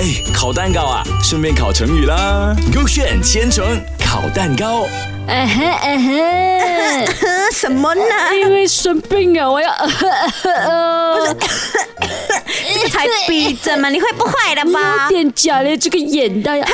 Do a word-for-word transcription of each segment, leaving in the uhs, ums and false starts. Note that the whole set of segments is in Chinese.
哎，烤蛋糕啊，顺便烤成语啦。勾选千层烤蛋糕。 啊哈啊哈， 什么呢？ 因为生病了，我要呃呃呃， 这个才逼真嘛，你会不会的吧？ 有点假嘞，这个眼袋呀。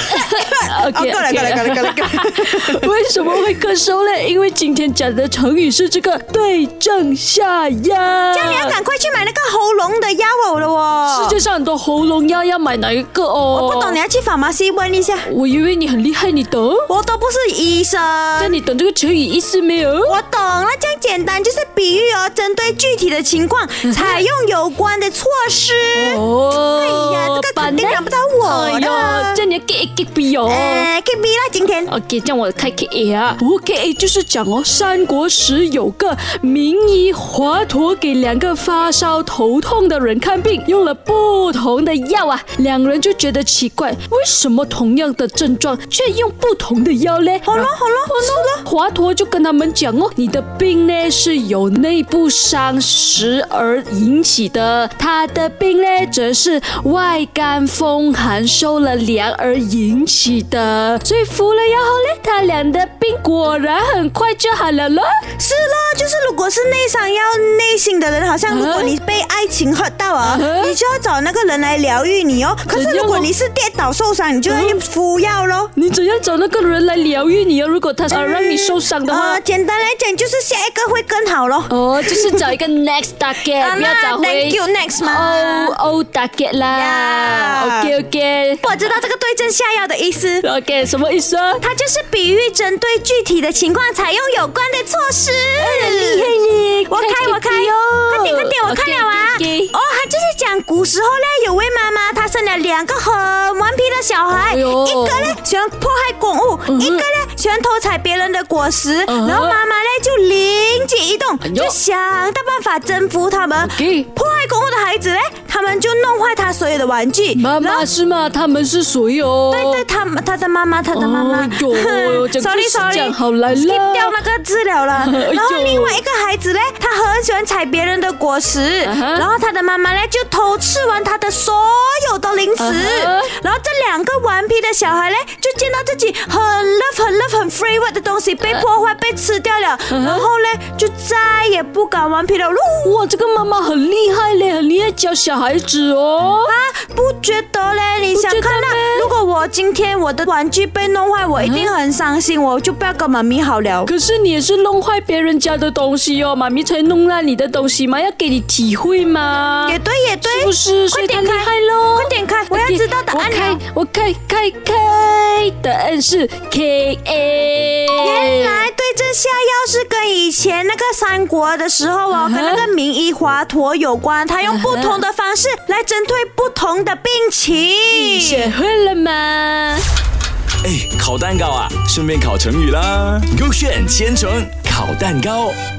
OK， 过来过来过来过来过来。 为什么会咳嗽嘞？因为今天讲的成语是这个对症下药。 这样你要赶快去买那个喉咙的药哦了哦。 世界上很多喉咙药，要买哪一个哦？ 我不懂，你要去pharmacy问一下。 我以为你很厉害，你懂？ 我都不是医生。 那你懂这个成语意思没有？ 我懂了，这样简单，就是比喻哦，针对具体的情况采用有关的措施。 哦， 哎呀，这个肯定难不到我的。 哎呦，这你要 get A get B 哦。 呃 ，get B 啦，今天。 OK， 这样我开 K A 啊。不 K A 就是讲哦，三国时有个名医华佗给两个发烧头痛的人看病，用了不同的药啊，两人就觉得奇怪，为什么同样的症状却用不同的药嘞？ 好了好了好了。 华佗就跟他们讲哦，你的病呢是由内部伤食而引起的，他的病呢则是外干风寒受了凉而引起的，所以服了药后呢，他俩的病果然很快就好了咯。 是咯，就是如果是内伤要内心的人，好像如果你被爱情hurt到啊，你就要找那个人来疗愈你哦。可是如果你是跌倒受伤，你就要用敷药咯。 你怎样找那个人来疗愈你啊？如果他想让你受伤的话， 呃，简单来讲就是下一个会更好咯。 哦，就是找一个 next target， 不要找回 Thank you next 嘛。 哦哦 target 啦。OK OK， 我知道这个对症下药的意思。 OK， 什么意思啊？ 它就是比喻针对具体的情况采用有关的措施。 厉害你！ 我开我开哦， 快点快点，我看了啊。哦，他就是讲古时候呢，有位妈妈，她生了两个很顽皮的小孩， 哎呦一个呢喜欢破坏公物， 嗯、 一个呢喜欢偷采别人的果实。 嗯、 然后妈妈呢就灵机一动， 哎、 就想到办法征服他们。 Okay. 破坏公物的孩子呢，他们就弄坏他所有的玩具。 妈妈是吗？他们是谁哦？ 对对，他他的妈妈，他的妈妈。 哎呦 sorry sorry， 好来了 skip 掉那个资料了。 哎、 然后另外一个孩子呢，他很喜欢采别人的果实，uh-huh. 然后他的妈妈呢就偷吃完他的所有的零食。Uh-huh. 然后这两个顽皮的小孩呢，就见到自己很 love 很 love 很 favorite 的东西被破坏、uh-huh. 被吃掉了， uh-huh. 然后呢就再也不敢顽皮了。 哇，这个妈妈很厉害嘞，很厉害教小孩子哦。 啊，不觉得嘞？你想看到，如果我今天我的玩具被弄坏，我一定很伤心，我就不要跟妈咪好了。 可是你也是弄坏别人家的东西哦，妈咪才弄烂你的东西嘛，要给你体会嘛。 也对也对， 是不是？ 快点开咯， 快点开，我要知道答案了。 我开开开，答案是 K A。 原来对症下药是跟以前那个三国的时候哦，跟那个名医华佗有关，他用不同的方式来针对不同的病情。 学会了吗？ 哎，烤蛋糕啊，顺便烤成语啦。勾选千层烤蛋糕。